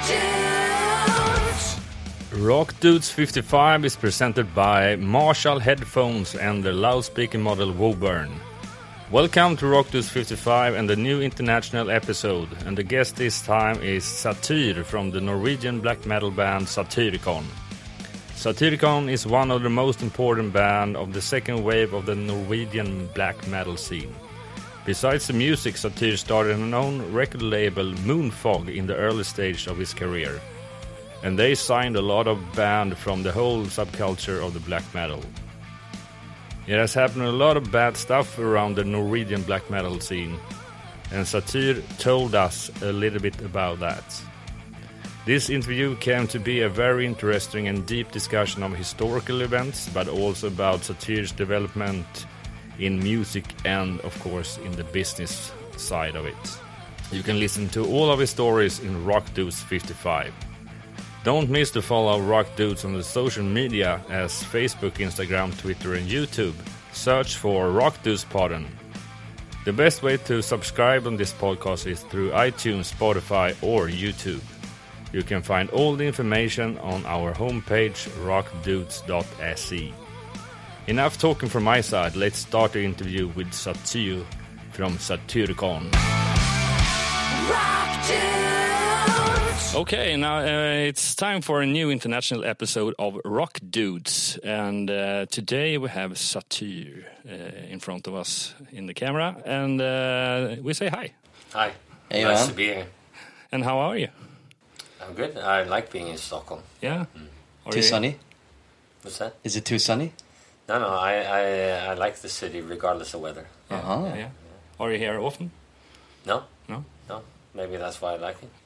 Rock Dudes 55 is presented by Marshall Headphones and the loudspeaker model Woburn. Welcome to Rock Dudes 55 and the new international episode, and the guest this time is Satyr from the Norwegian black metal band Satyricon. Satyricon is one of the most important bands of the second wave of the Norwegian black metal scene. Besides the music, Satyr started an own record label, Moonfog, in the early stage of his career. And they signed a lot of bands from the whole subculture of the black metal. It has happened a lot of bad stuff around the Norwegian black metal scene, and Satyr told us a little bit about that. This interview came to be a very interesting and deep discussion of historical events, but also about Satyr's development in music and, of course, in the business side of it. You can listen to all of his stories in Rock Dudes 55. Don't miss to follow Rock Dudes on the social media as Facebook, Instagram, Twitter and YouTube. Search for Rock Dudes Podden. The best way to subscribe on this podcast is through iTunes, Spotify or YouTube. You can find all the information on our homepage rockdudes.se. Enough talking from my side, let's start the interview with Satyr from Satyricon. Rock Dudes! Okay, now it's time for a new international episode of Rock Dudes, and today we have Satyr in front of us in the camera, and we say hi. Hi, hey, nice to be here. And how are you? I'm good. I like being in Stockholm. Yeah. Too sunny? What's that? Is it too sunny? No, I like the city regardless of weather. Yeah. Yeah. Are you here often? No. No? No. Maybe that's why I like it.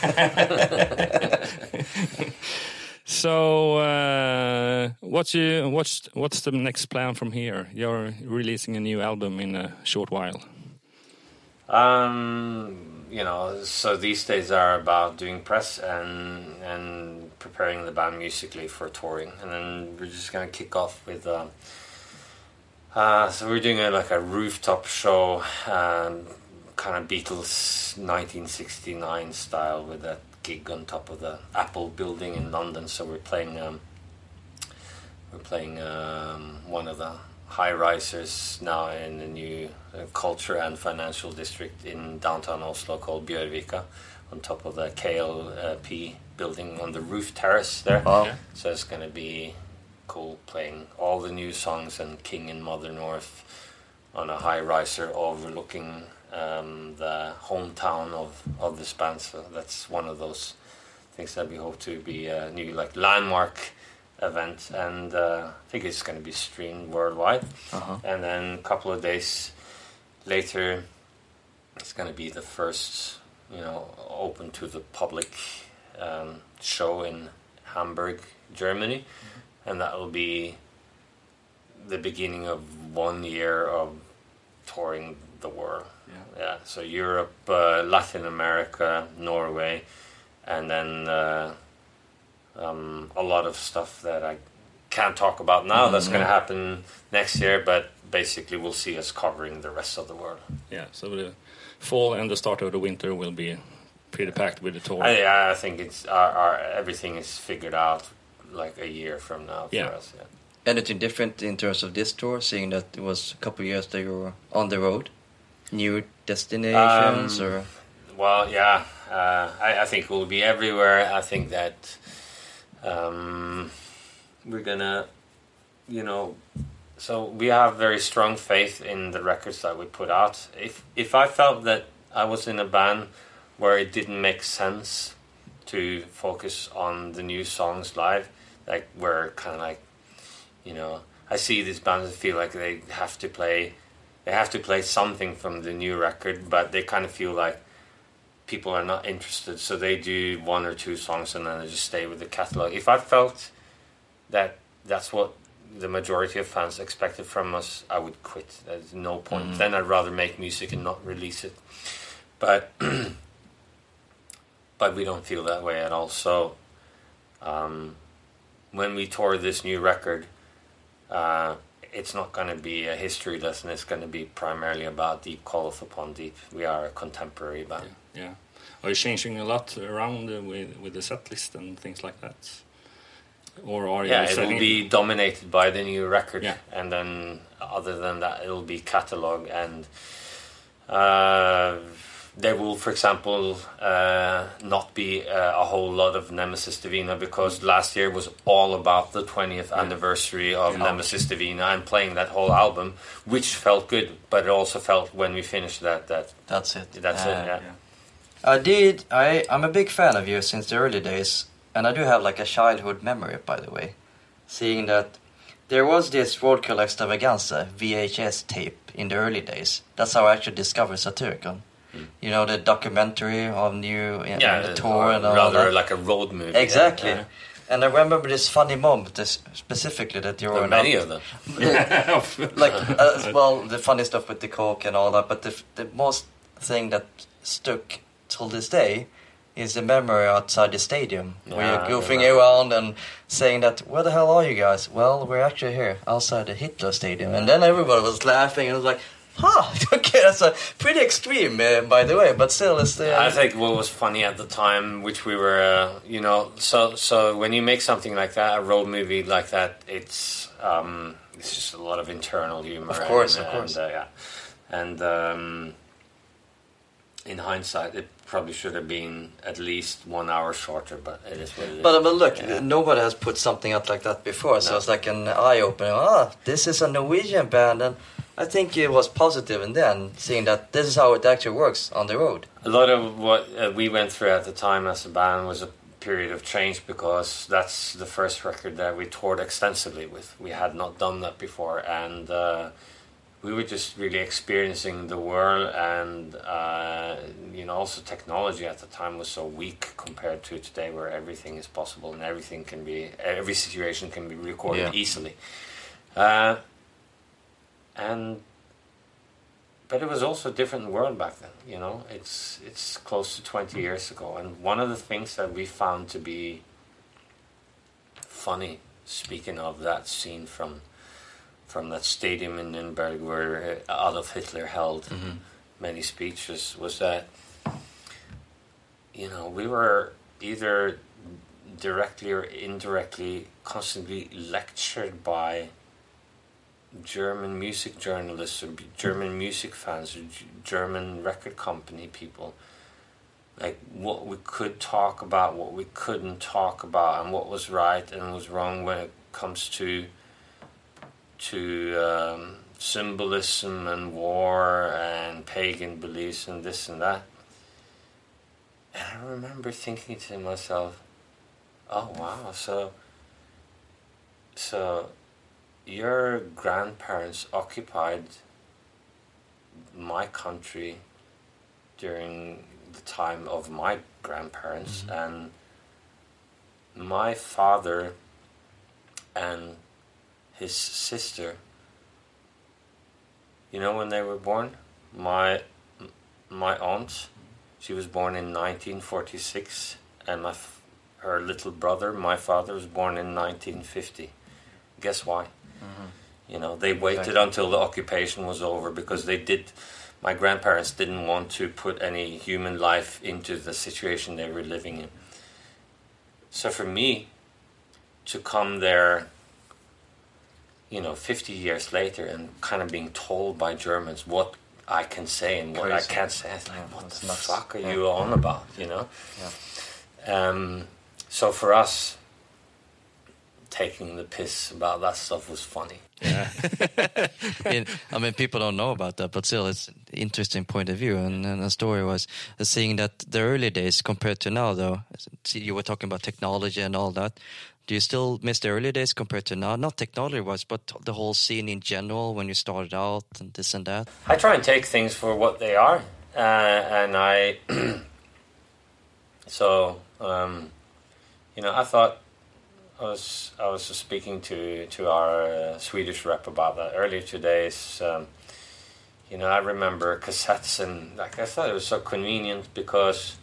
So, what's the next plan from here? You're releasing a new album in a short while. So these days are about doing press and preparing the band musically for touring, and then we're just gonna kick off with. So we're doing a rooftop show. Kind of Beatles 1969 style with that gig on top of the Apple building in London. So we're playing one of the high risers now in the new culture and financial district in downtown Oslo called Bjørvika, on top of the KLP building on the roof terrace there. Wow. So it's going to be cool playing all the new songs and King and Mother North on a high riser overlooking the hometown of this band. So that's one of those things that we hope to be a new landmark event, and I think it's going to be streamed worldwide. And then a couple of days later it's going to be the first open to the public show in Hamburg, Germany. And that will be the beginning of 1 year of touring the world. Yeah, so Europe, Latin America, Norway, and then a lot of stuff that I can't talk about now. That's going to happen next year, but basically we'll see us covering the rest of the world. Yeah, so the fall and the start of the winter will be pretty packed with the tour. I think it's our everything is figured out like a year from now for us. Yeah. Anything different in terms of this tour, seeing that it was a couple of years that you were on the road? New destinations or? Well, yeah, I think we'll be everywhere. I think that we're gonna, so we have very strong faith in the records that we put out. If I felt that I was in a band where it didn't make sense to focus on the new songs live, like we're kind of like, I see these bands that feel like they have to play something from the new record, but they kind of feel like people are not interested, so they do one or two songs and then they just stay with the catalog. If I felt that that's what the majority of fans expected from us, I would quit. There's no point. Then I'd rather make music and not release it. But we don't feel that way at all. So when we tour this new record, it's not going to be a history lesson. It's going to be primarily about Deep Calleth Upon Deep. We are a contemporary band. Yeah. Are you changing a lot around with the set list and things like that? Or are you it will be dominated by the new record, Yeah. and then other than that, it will be catalog, and there will, for example, not be a whole lot of Nemesis Divina, because last year was all about the 20th anniversary of Nemesis Divina and playing that whole album, which felt good, but it also felt when we finished that That's it. that's it. Yeah. I'm a big fan of you since the early days, and I do have like a childhood memory, by the way, seeing that there was this Roadkill Extravaganza VHS tape in the early days. That's how I actually discovered Satyricon. You know, the documentary on you and the tour and all rather that. like a road movie. Exactly. Yeah. And I remember this funny moment, specifically that you There were are many of them. like well, the funny stuff with the coke and all that, but the most thing that stuck till this day is the memory outside the stadium, where you're goofing around and saying that, where the hell are you guys? Well, we're actually here outside the Hitler Stadium. And then everybody was laughing and it was like, okay, that's a pretty extreme, by the way, but still, it's the... I think what was funny at the time, which we were, so when you make something like that, a road movie like that, it's just a lot of internal humor. Of course. And in hindsight, it probably should have been at least 1 hour shorter, but it is what it is. But look, nobody has put something out like that before, so it's like an eye-opener. This is a Norwegian band, and I think it was positive in then, seeing that this is how it actually works on the road. A lot of what we went through at the time as a band was a period of change, because that's the first record that we toured extensively with. We had not done that before, and we were just really experiencing the world, and also technology at the time was so weak compared to today, where everything is possible and every situation can be recorded easily. But it was also a different world back then, It's close to 20 years ago, and one of the things that we found to be funny, speaking of that scene from that stadium in Nuremberg where Adolf Hitler held many speeches, was that we were either directly or indirectly constantly lectured by German music journalists or German music fans or German record company people, like what we could talk about, what we couldn't talk about, and what was right and was wrong when it comes to symbolism and war and pagan beliefs and this and that. And I remember thinking to myself, oh wow, so your grandparents occupied my country during the time of my grandparents, and my father and his sister, when they were born, my aunt, she was born in 1946, and her little brother, my father, was born in 1950. Guess why? They waited until the occupation was over, because my grandparents didn't want to put any human life into the situation they were living in. So for me to come there, 50 years later, and kind of being told by Germans what I can say and what I can't say, it's like, what the fuck are you on about, So for us, taking the piss about that stuff was funny. Yeah. People don't know about that, but still, it's an interesting point of view. And the story was seeing that the early days compared to now, though. You were talking about technology and all that. Do you still miss the early days compared to now? Not technology-wise, but the whole scene in general when you started out and this and that? I try and take things for what they are. And I... I thought... I was speaking to our Swedish rep about that earlier today. I remember cassettes, and I thought it was so convenient because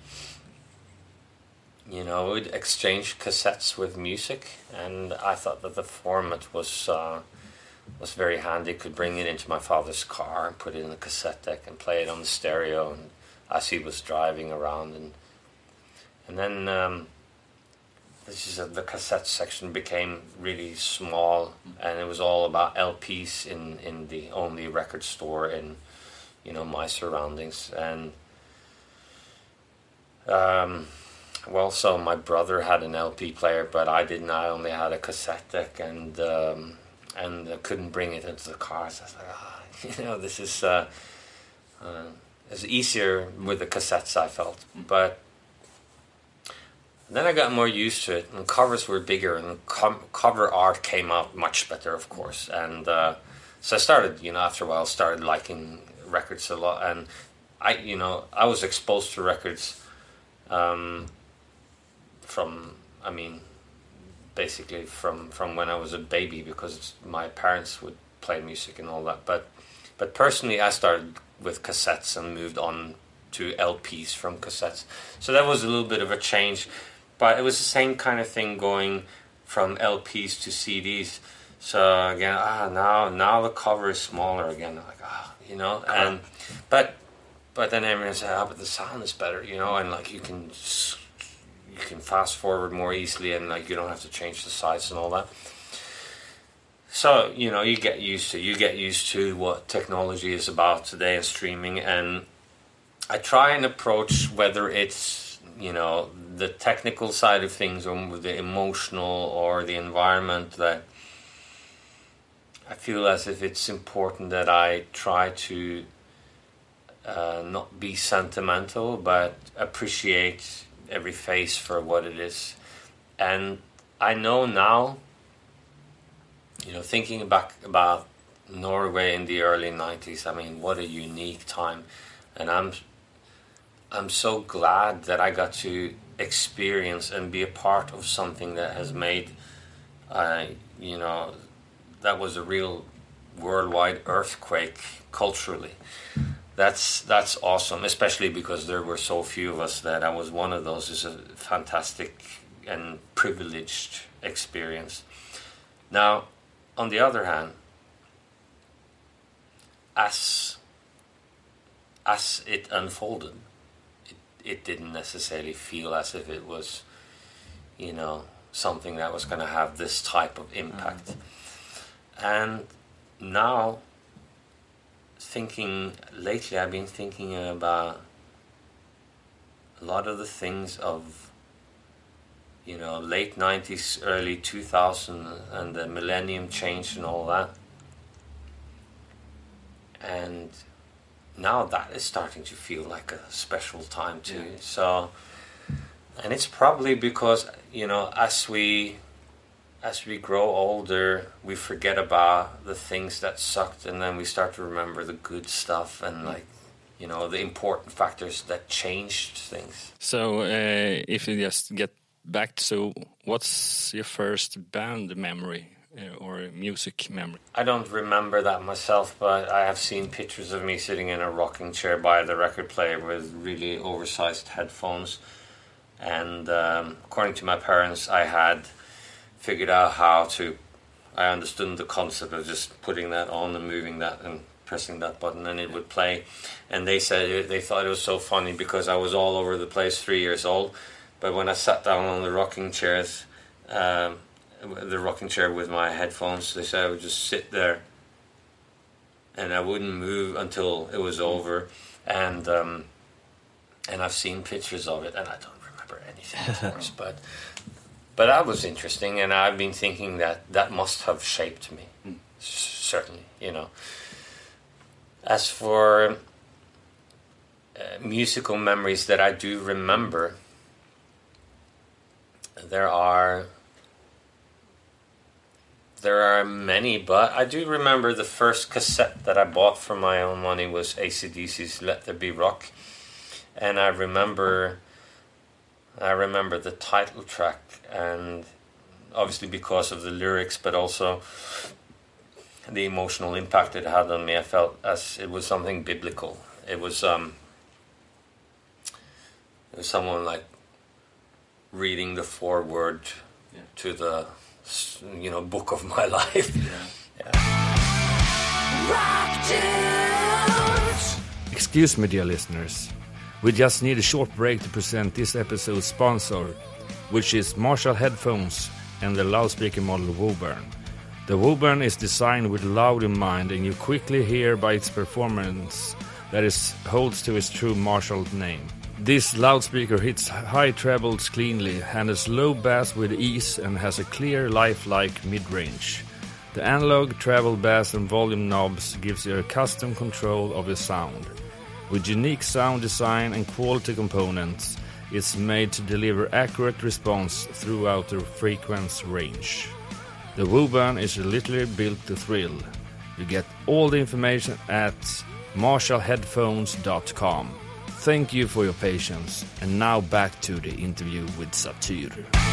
we'd exchange cassettes with music, and I thought that the format was very handy. Could bring it into my father's car and put it in the cassette deck and play it on the stereo, and as he was driving around, and And then the cassette section became really small, and it was all about LPs in the only record store in, my surroundings. And so my brother had an LP player, but I didn't. I only had a cassette deck, and I couldn't bring it into the car. So I was like, this is it's easier with the cassettes, I felt. But then I got more used to it, and covers were bigger, and cover art came out much better, of course. And so I started, after a while, started liking records a lot, and I was exposed to records basically from when I was a baby, because my parents would play music and all that. But personally, I started with cassettes and moved on to LPs from cassettes. So that was a little bit of a change, but it was the same kind of thing going from LPs to CDs. So again, now the cover is smaller again. I'm like, and but then everyone said, but the sound is better, and like you can fast forward more easily, and like you don't have to change the size and all that. So you get used to what technology is about today and streaming, and I try and approach whether it's the technical side of things or the emotional or the environment, that I feel as if it's important that I try to not be sentimental, but appreciate every face for what it is. And I know now, thinking back about Norway in the early 90s, what a unique time. And I'm so glad that I got to experience and be a part of something that has made, that was a real worldwide earthquake culturally. That's awesome, especially because there were so few of us that I was one of those. It's a fantastic and privileged experience. Now, on the other hand, as it unfolded, it didn't necessarily feel as if it was, something that was going to have this type of impact. And now, lately I've been thinking about a lot of the things of, late 90s, early 2000, and the millennium change and all that. And now that is starting to feel like a special time too. Yeah. So, and it's probably because, as we grow older, we forget about the things that sucked, and then we start to remember the good stuff and the important factors that changed things. So if you just get back to, what's your first band memory or music memory? I don't remember that myself, but I have seen pictures of me sitting in a rocking chair by the record player with really oversized headphones. And according to my parents, I had figured out I understood the concept of just putting that on and moving that and pressing that button, and it would play. And they said they thought it was so funny because I was all over the place, 3 years old. But when I sat down on the rocking chair with my headphones, they said I would just sit there and I wouldn't move until it was over. And I've seen pictures of it, and I don't remember anything, of course, but that was interesting, and I've been thinking that must have shaped me, certainly, As for musical memories that I do remember, there are many, but I do remember the first cassette that I bought for my own money was AC/DC's Let There Be Rock, and I remember the title track, and obviously because of the lyrics, but also the emotional impact it had on me. I felt as it was something biblical. It was someone like reading the foreword to the book of my life. Excuse me, dear listeners. We just need a short break to present this episode's sponsor, which is Marshall Headphones and the loudspeaker model Woburn. The Woburn is designed with loud in mind, and you quickly hear by its performance that it holds to its true Marshall name. This loudspeaker hits high trebles cleanly, handles low bass with ease, and has a clear, lifelike mid-range. The analog, treble, bass and volume knobs gives you a custom control of the sound. With unique sound design and quality components, it's made to deliver accurate response throughout the frequency range. The Woburn is literally built to thrill. You get all the information at marshallheadphones.com. Thank you for your patience, and now back to the interview with Satyr.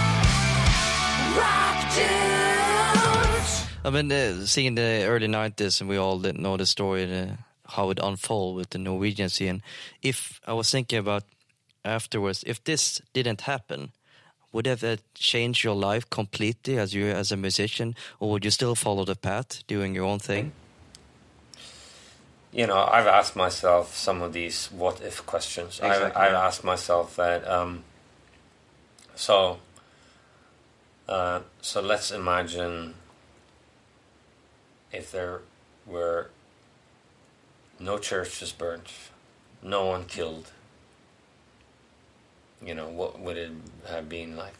I mean, seeing the early 90s, and we all didn't know the story, how it unfolded with the Norwegian scene. If I was thinking about afterwards, if this didn't happen, would that change your life completely as a musician, or would you still follow the path, doing your own thing? You know, I've asked myself some of these what-if questions. Exactly. I've asked myself that, so let's imagine if there were no churches burnt, no one killed, you know, what would it have been like?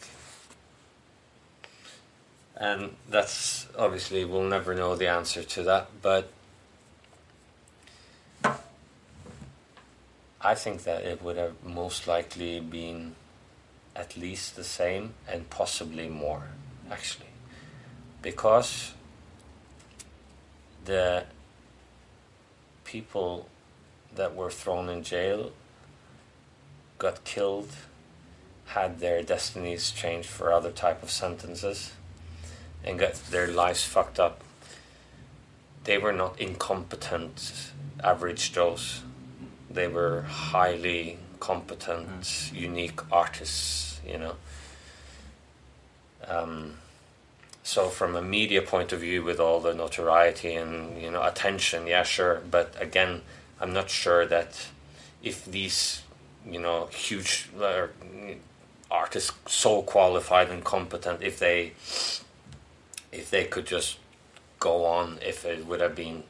And that's, obviously, we'll never know the answer to that, but I think that it would have most likely been at least the same and possibly more, actually. Because the people that were thrown in jail, got killed, had their destinies changed for other type of sentences, and got their lives fucked up. They were not incompetent average Joes. They were highly competent, unique artists, you know. So from a media point of view, with all the notoriety and, you know, attention, yeah, sure. But again, I'm not sure that if these, you know, huge artists, so qualified and competent, if they could just go on, if it would have been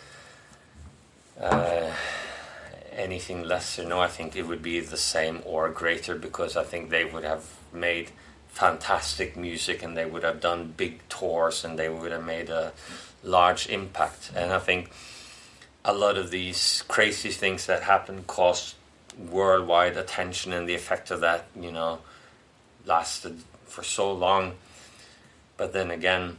anything less or no, I think it would be the same or greater, because I think they would have made fantastic music, and they would have done big tours, and they would have made a large impact. And I think a lot of these crazy things that happen caused worldwide attention, and the effect of that, you know, lasted for so long. But then again,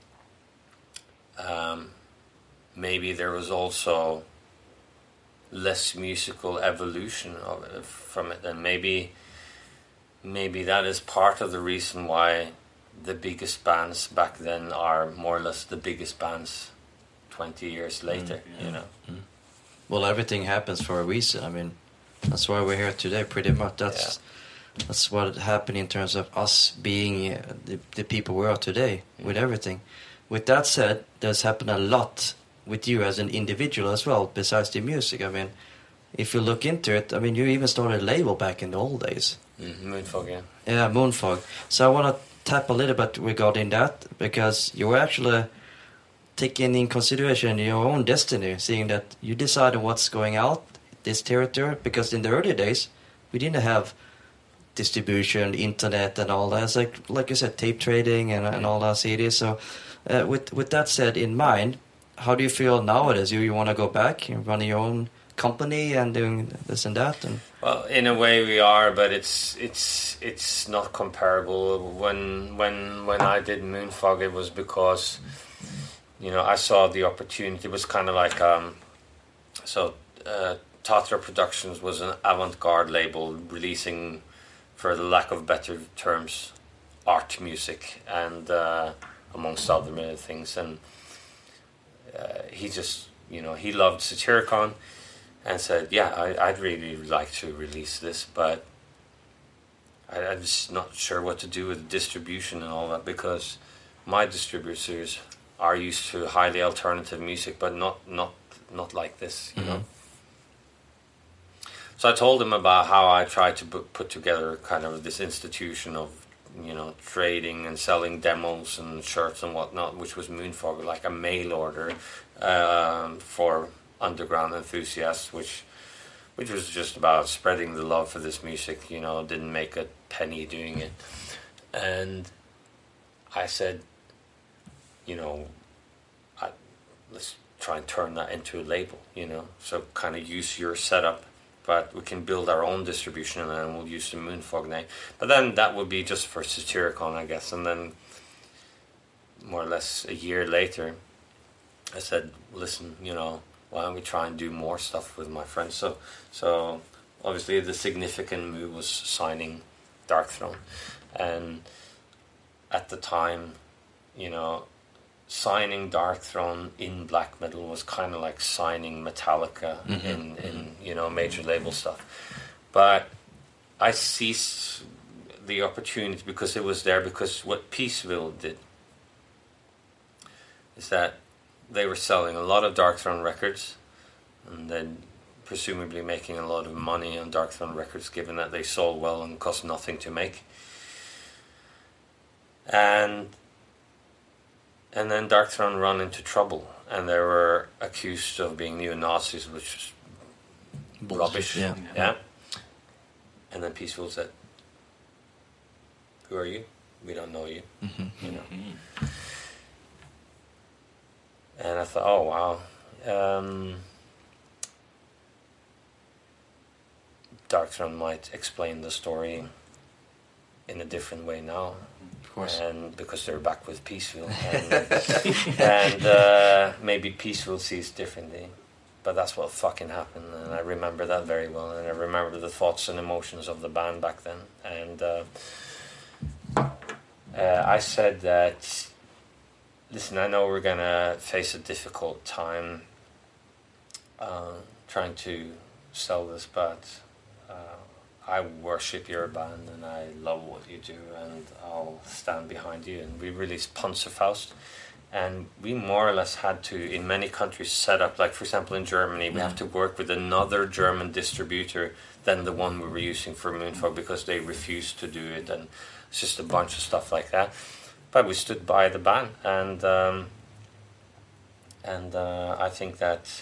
maybe there was also less musical evolution of it, from it, and maybe that is part of the reason why the biggest bands back then are more or less the biggest bands 20 years later, you know. Well, everything happens for a reason. I mean, that's why we're here today, pretty much. That's what happened in terms of us being the people we are today, with everything. With that said, there's happened a lot with you as an individual as well, besides the music. I mean, if you look into it, I mean, you even started a label back in the old days. Moonfog, yeah. Yeah, Moonfog. So I want to tap a little bit regarding that, because you were actually taking in consideration your own destiny, seeing that you decided what's going out, this territory, because in the early days, we didn't have distribution, internet and all that. It's like you said, tape trading and all that CDs. So with that said in mind, how do you feel nowadays? You want to go back and run your own company and doing this and that? And well, in a way we are, but it's not comparable. When I did Moonfog, it was because, you know, I saw the opportunity. It was kind of like Tatra Productions was an avant-garde label releasing, for the lack of better terms, art music and amongst other things. And he just, you know, he loved Satyricon and said, yeah, I'd really like to release this, but I'm just not sure what to do with distribution and all that, because my distributors are used to highly alternative music, but not like this, you know. So So I told him about how I tried to put together kind of this institution of, trading and selling demos and shirts and whatnot, which was Moonfog, like a mail order for underground enthusiasts, which was just about spreading the love for this music. Didn't make a penny doing it. And I said, let's try and turn that into a label, so kind of use your setup, but we can build our own distribution, and then we'll use the Moonfog name. But then that would be just for Satyricon, I guess. And then more or less a year later, I said, listen, why don't we try and do more stuff with my friends? So obviously the significant move was signing Darkthrone. And at the time, signing Darkthrone in black metal was kind of like signing Metallica in major label stuff. But I seized the opportunity because it was there, because what Peaceville did is that they were selling a lot of Darkthrone records, and then presumably making a lot of money on Darkthrone records, given that they sold well and cost nothing to make. And then Darkthrone run into trouble, and they were accused of being neo-Nazis, which is rubbish. Yeah. And then Peaceville said, "Who are you? We don't know you." And I thought, oh wow, Darkthrone might explain the story in a different way now. Of course. And because they're back with Peaceville, and maybe Peaceville sees differently, but that's what fucking happened, and I remember that very well, and I remember the thoughts and emotions of the band back then, and I said that, listen, I know we're gonna face a difficult time trying to sell this, but I worship your band and I love what you do, and I'll stand behind you. And we released Panzerfaust, and we more or less had to, in many countries, set up, like for example in Germany, we have to work with another German distributor than the one we were using for Moonfog, because they refused to do it, and it's just a bunch of stuff like that. But we stood by the band, and I think that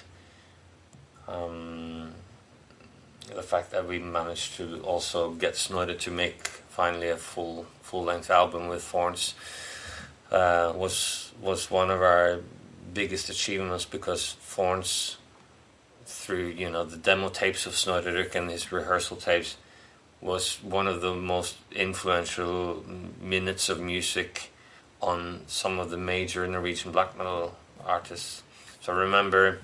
the fact that we managed to also get Snoider to make finally a full-length album with Thorns was one of our biggest achievements, because Thorns, through the demo tapes of Snoider and his rehearsal tapes, was one of the most influential minutes of music on some of the major Norwegian black metal artists. So I remember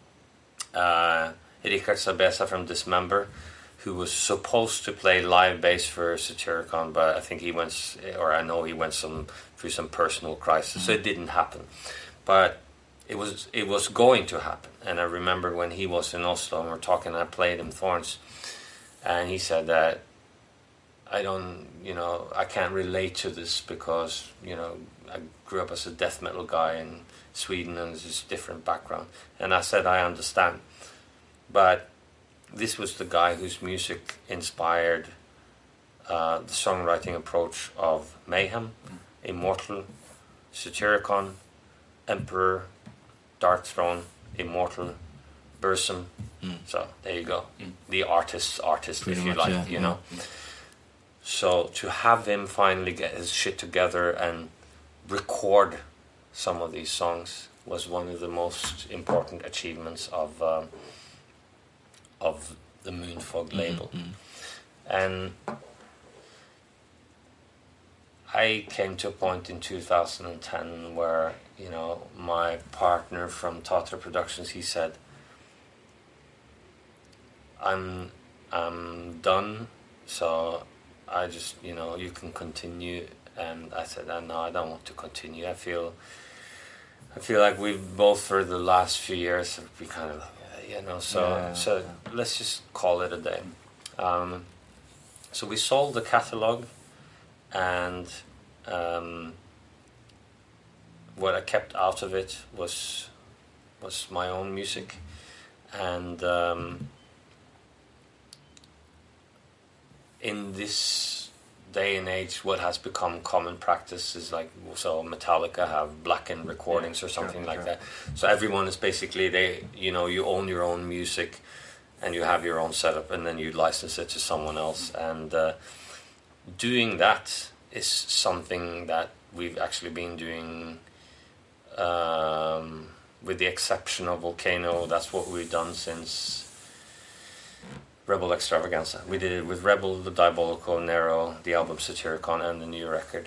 Rikard Sabesa from Dismember, who was supposed to play live bass for Satyricon, but I think he went through some personal crisis, so it didn't happen. But it was going to happen. And I remember when he was in Oslo and we were talking, I played him Thorns, and he said that I can't relate to this because I grew up as a death metal guy in Sweden and it's just a different background. And I said, I understand. But this was the guy whose music inspired the songwriting approach of Mayhem, Immortal, Satyricon, Emperor, Darkthrone, Immortal, Burzum. So there you go. The artist, pretty if you much, like, you know. So to have him finally get his shit together and record some of these songs was one of the most important achievements of the Moonfog label. And I came to a point in 2010 where, my partner from Tatra Productions, he said, I'm done, so I just, you can continue. And I said, no, I don't want to continue. I feel like we've both for the last few years we kind of, so let's just call it a day. So we sold the catalog, and what I kept out of it was my own music, and in this day and age, what has become common practice is like, so Metallica have Blackened recordings or something like that. So everyone is basically, you own your own music and you have your own setup, and then you license it to someone else. And doing that is something that we've actually been doing, with the exception of Volcano. That's what we've done since Rebel Extravaganza. We did it with Rebel, the Diabolical, Nero, the album Satyricon, and the new record,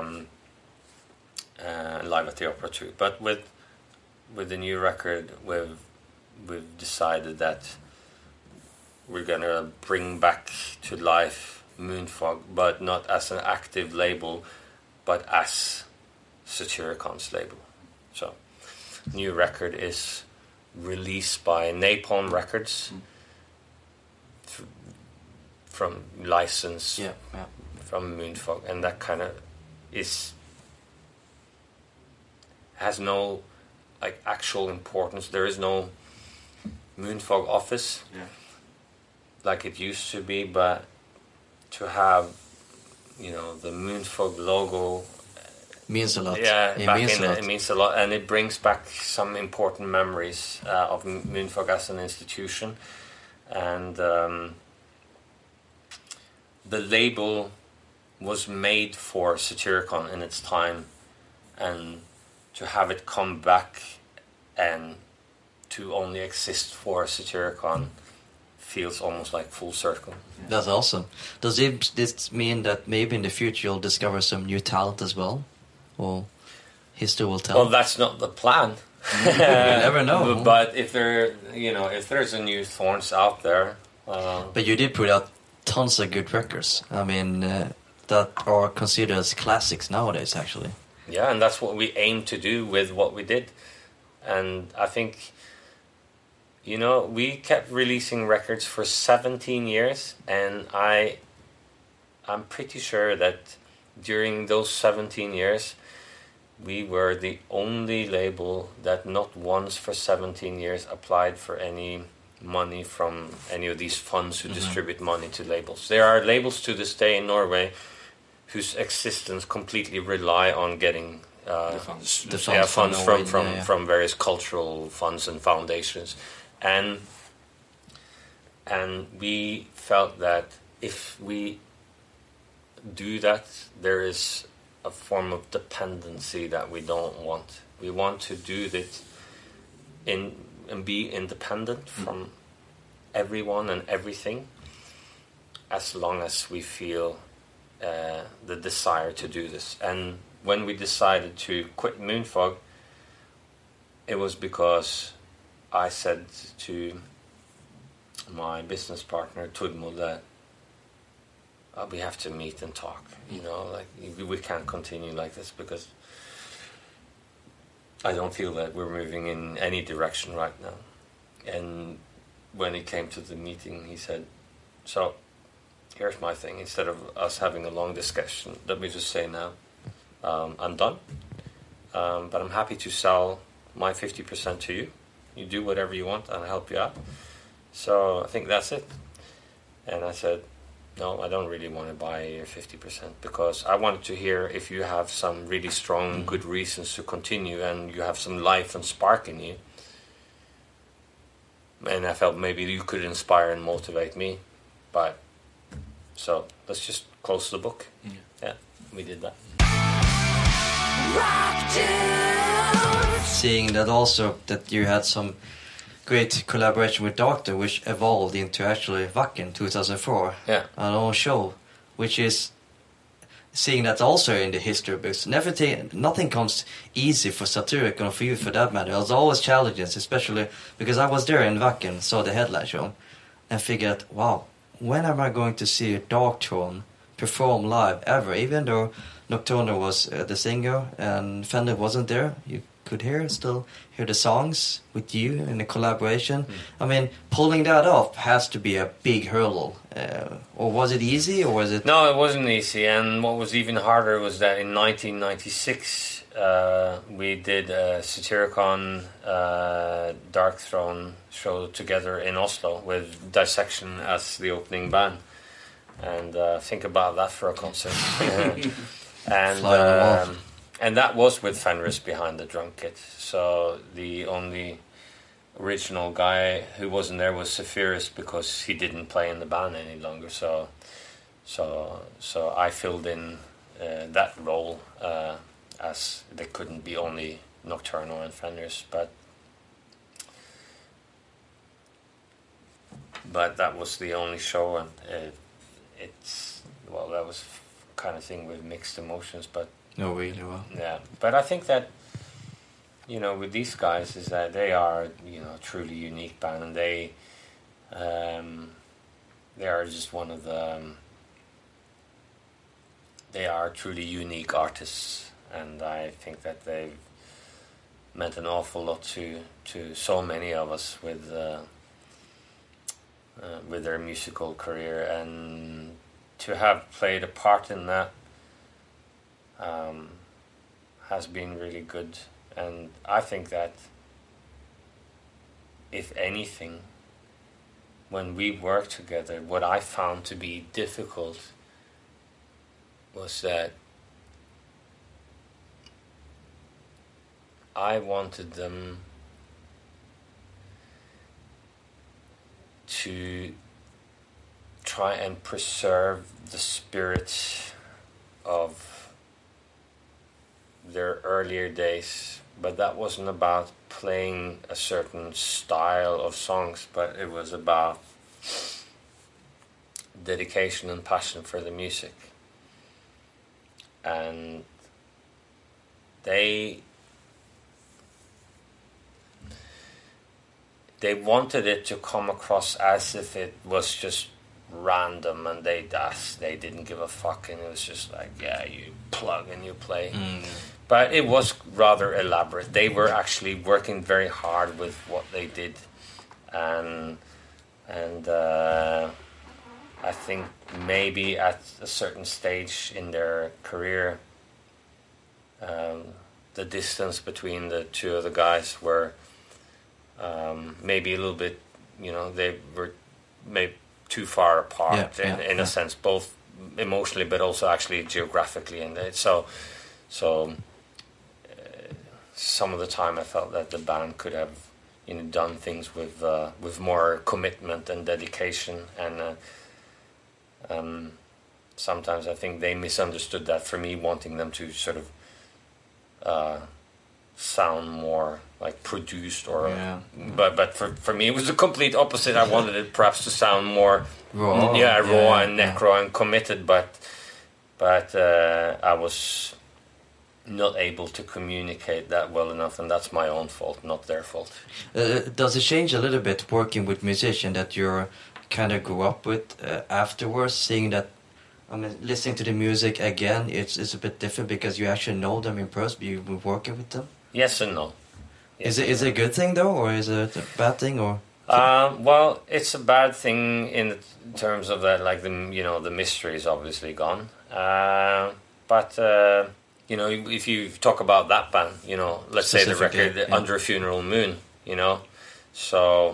Live at the Opera too. But with the new record, we've decided that we're gonna bring back to life Moonfog, but not as an active label, but as Satyricon's label. So, new record is released by Napalm Records. From license from Moonfog, and that kind of has no like actual importance. There is no Moonfog office like it used to be, but to have the Moonfog logo means a lot. It means a lot, and it brings back some important memories of Moonfog as an institution. And the label was made for Satyricon in its time, and to have it come back and to only exist for Satyricon feels almost like full circle. That's awesome. Does this mean that maybe in the future you'll discover some new talent as well? Or history will tell? Well, that's not the plan. You never know. But if there's a new Thorns out there... But you did put out tons of good records. I mean, that are considered as classics nowadays, actually. Yeah, and that's what we aim to do with what we did. And I think, we kept releasing records for 17 years, and I'm pretty sure that during those 17 years, we were the only label that not once for 17 years applied for any money from any of these funds who distribute money to labels. There are labels to this day in Norway whose existence completely rely on getting funds from various cultural funds and foundations, and we felt that if we do that, there is a form of dependency that we don't want. We want to do this and be independent from everyone and everything, as long as we feel the desire to do this. And when we decided to quit Moonfog, it was because I said to my business partner Tudmo that we have to meet and talk. We can't continue like this, because I don't feel that we're moving in any direction right now. And when he came to the meeting, he said, so here's my thing. Instead of us having a long discussion, let me just say now, I'm done, but I'm happy to sell my 50% to you. You do whatever you want, and I'll help you out. So I think that's it. And I said, no, I don't really want to buy your 50%, because I wanted to hear if you have some really strong, good reasons to continue, and you have some life and spark in you. And I felt maybe you could inspire and motivate me. But so let's just close the book. Yeah, we did that. Seeing that also that you had some great collaboration with Doctor, which evolved into actually Wacken 2004, an own show, which is seeing that also in the history books. Nothing comes easy for Satyricon or for you for that matter. There's always challenges, especially because I was there in Wacken, saw the headline show, and figured, wow, when am I going to see a Darkthrone perform live ever? Even though Nocturno was the singer and Fender wasn't there, you could still hear the songs with you in a collaboration. I mean, pulling that off has to be a big hurdle. Or was it easy, or was it... No, it wasn't easy. And what was even harder was that in 1996 we did a Satyricon Darkthrone show together in Oslo with Dissection as the opening band. and think about that for a concert. And Fly on the wall. and that was with Fenris behind the drum kit. So the only original guy who wasn't there was Zephyrus, because he didn't play in the band any longer. So I filled in that role, as there couldn't be only Nocturno and Fenris, but that was the only show, and that was kind of thing with mixed emotions, but No, really well. yeah. But I think that, with these guys, is that they are, a truly unique band, and they are just one of the, they are truly unique artists, and I think that they've meant an awful lot to so many of us with their musical career, and to have played a part in that has been really good. And I think that, if anything, when we worked together, what I found to be difficult was that I wanted them to try and preserve the spirit of their earlier days, but that wasn't about playing a certain style of songs, but it was about dedication and passion for the music. And they wanted it to come across as if it was just random, and they didn't give a fuck, and it was just like, yeah, you plug and you play. But it was rather elaborate. They were actually working very hard with what they did, and I think maybe at a certain stage in their career, the distance between the two of the guys were maybe a little bit, they were maybe too far apart in a sense, both emotionally but also actually geographically. And so some of the time I felt that the band could have done things with more commitment and dedication, and sometimes I think they misunderstood that, for me wanting them to sort of sound more like produced, or but for me it was the complete opposite. I wanted it perhaps to sound more raw and necro and committed, but I was not able to communicate that well enough, and that's my own fault, not their fault. Does it change a little bit working with musicians that you kind of grew up with afterwards, seeing that, listening to the music again, it's a bit different because you actually know them in person, you've been working with them? Yes and no. Yes, is it a good thing though, or is it a bad thing, or? Well, it's a bad thing in terms of that, like the mystery is obviously gone. But if you talk about that band, let's say the record Under a Funeral Moon, so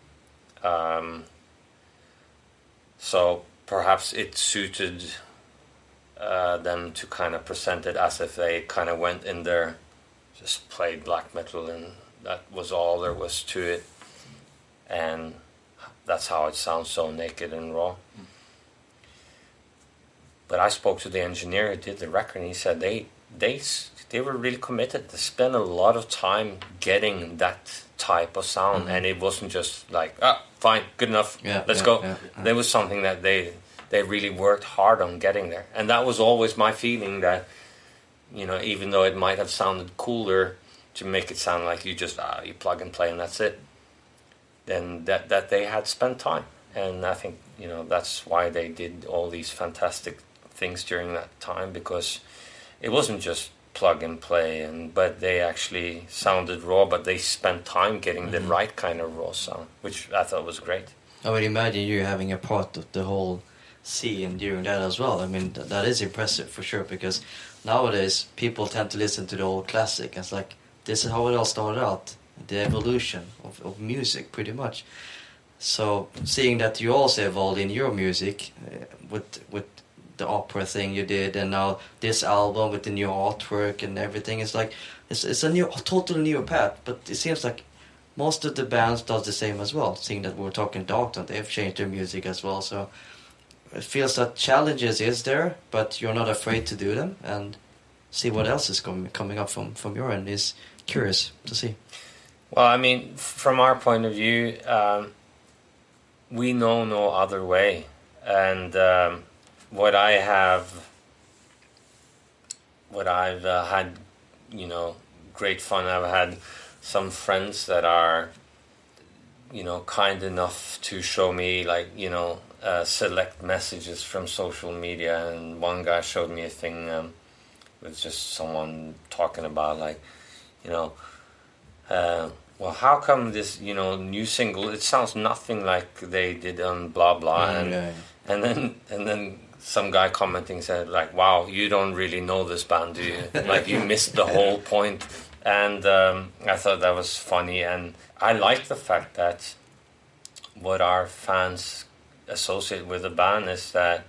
perhaps it suited them to kind of present it as if they kind of went in there, just played black metal, and that was all there was to it, and that's how it sounds, so naked and raw. But I spoke to the engineer who did the record, and he said they were really committed. They spent a lot of time getting that type of sound, and it wasn't just like, fine, good enough, let's go. There was something that they really worked hard on getting there, and that was always my feeling, that even though it might have sounded cooler to make it sound like you just you plug and play and that's it, then that they had spent time. And I think that's why they did all these fantastic things during that time, because it wasn't just plug and play, but they actually sounded raw, but they spent time getting the right kind of raw sound, which I thought was great. I would imagine you having a part of the whole scene during that as well. I mean, that is impressive for sure, because nowadays people tend to listen to the old classic. It's like, this is how it all started out, the evolution of music, pretty much. So seeing that you also evolved in your music with the opera thing you did, and now this album with the new artwork and everything, it's like it's a totally new path. But it seems like most of the bands does the same as well. Seeing that we're talking Darkthrone, they've changed their music as well. So it feels that challenges is there, but you're not afraid to do them and see what else is coming up from your end. Is curious to see. Well, I mean, from our point of view, we know no other way, and what I've had, great fun. I've had some friends that are, kind enough to show me, select messages from social media, and one guy showed me a thing with just someone talking about, well, how come this, new single, it sounds nothing like they did on blah blah, and then some guy commenting said, wow, you don't really know this band, do you? You missed the whole point. And I thought that was funny, and I like the fact that what our fans associate with the band is that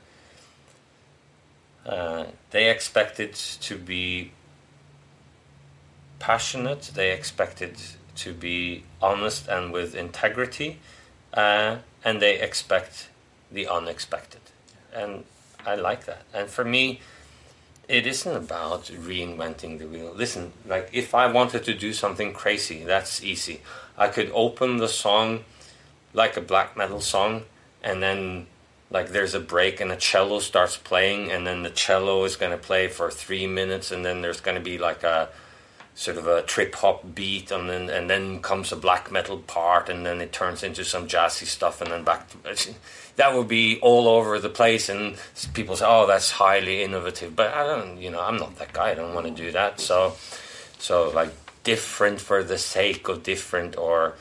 they expect it to be passionate, they expect it to be honest and with integrity, and they expect the unexpected, and I like that. And for me, it isn't about reinventing the wheel. Listen, if I wanted to do something crazy, that's easy. I could open the song like a black metal song, and then there's a break and a cello starts playing, and then the cello is going to play for 3 minutes, and then there's going to be a sort of a trip hop beat, and then comes a black metal part, and then it turns into some jazzy stuff, and then back to, that would be all over the place, and people say, oh, that's highly innovative, but I don't, I'm not that guy, I don't want to do that. So different for the sake of different, or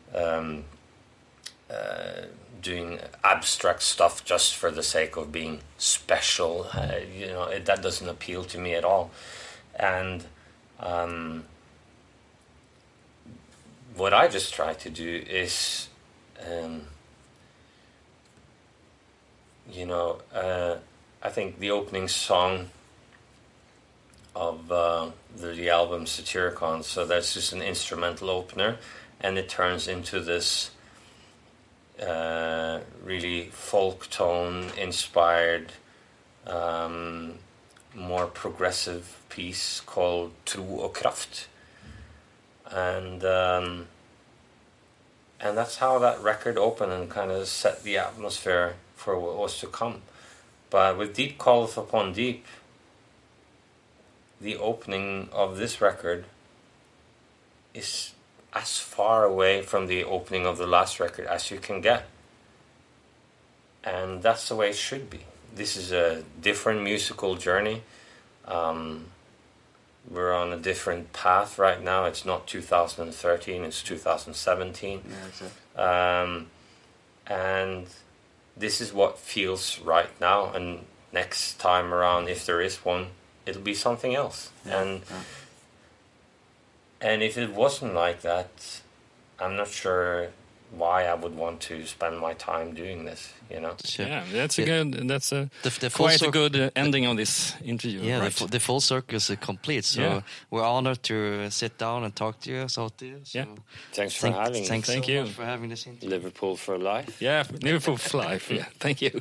doing abstract stuff just for the sake of being special, that doesn't appeal to me at all. And what I just try to do is, I think the opening song of the album Satyricon, so that's just an instrumental opener, and it turns into this really folk tone inspired, more progressive piece called Tro och Kraft, and that's how that record opened and kind of set the atmosphere for what was to come. But with Deep Calleth Upon Deep, the opening of this record is as far away from the opening of the last record as you can get, and that's the way it should be. This is a different musical journey. We're on a different path right now. It's not 2013, it's 2017. Yeah, exactly. And this is what feels right now. And next time around, if there is one, it'll be something else. Yeah. And if it wasn't like that, I'm not sure why I would want to spend my time doing this, Sure. Yeah, that's quite a good ending of this interview. Yeah, right? the full circle is complete. So we're honored to sit down and talk to you. So thanks for having me. Thank you for having this interview. Liverpool for life. Yeah, Liverpool for life. Yeah, thank you.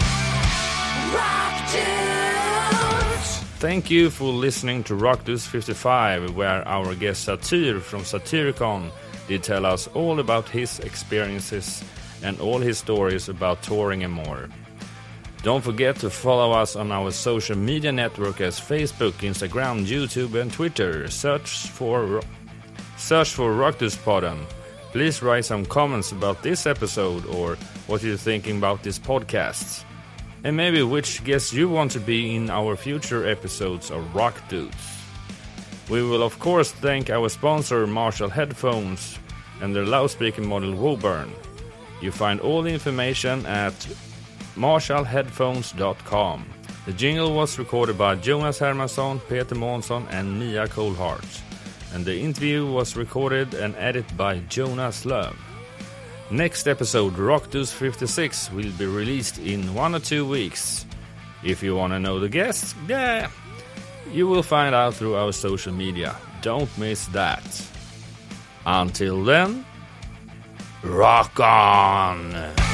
Thank you for listening to Rockdudes 55, where our guest Satyr from Satyricon did tell us all about his experiences and all his stories about touring and more. Don't forget to follow us on our social media network as Facebook, Instagram, YouTube and Twitter. Search for Rockdudespodden. Please write some comments about this episode or what you're thinking about this podcast. And maybe which guests you want to be in our future episodes of Rock Dudes. We will of course thank our sponsor Marshall Headphones and their loudspeaker model Woburn. You find all the information at marshallheadphones.com. The jingle was recorded by Jonas Hermansson, Peter Månsson and Mia Coldheart. And the interview was recorded and edited by Jonas Love. Next episode, Rock Dudes 56, will be released in 1 or 2 weeks. If you want to know the guests, you will find out through our social media. Don't miss that. Until then, rock on!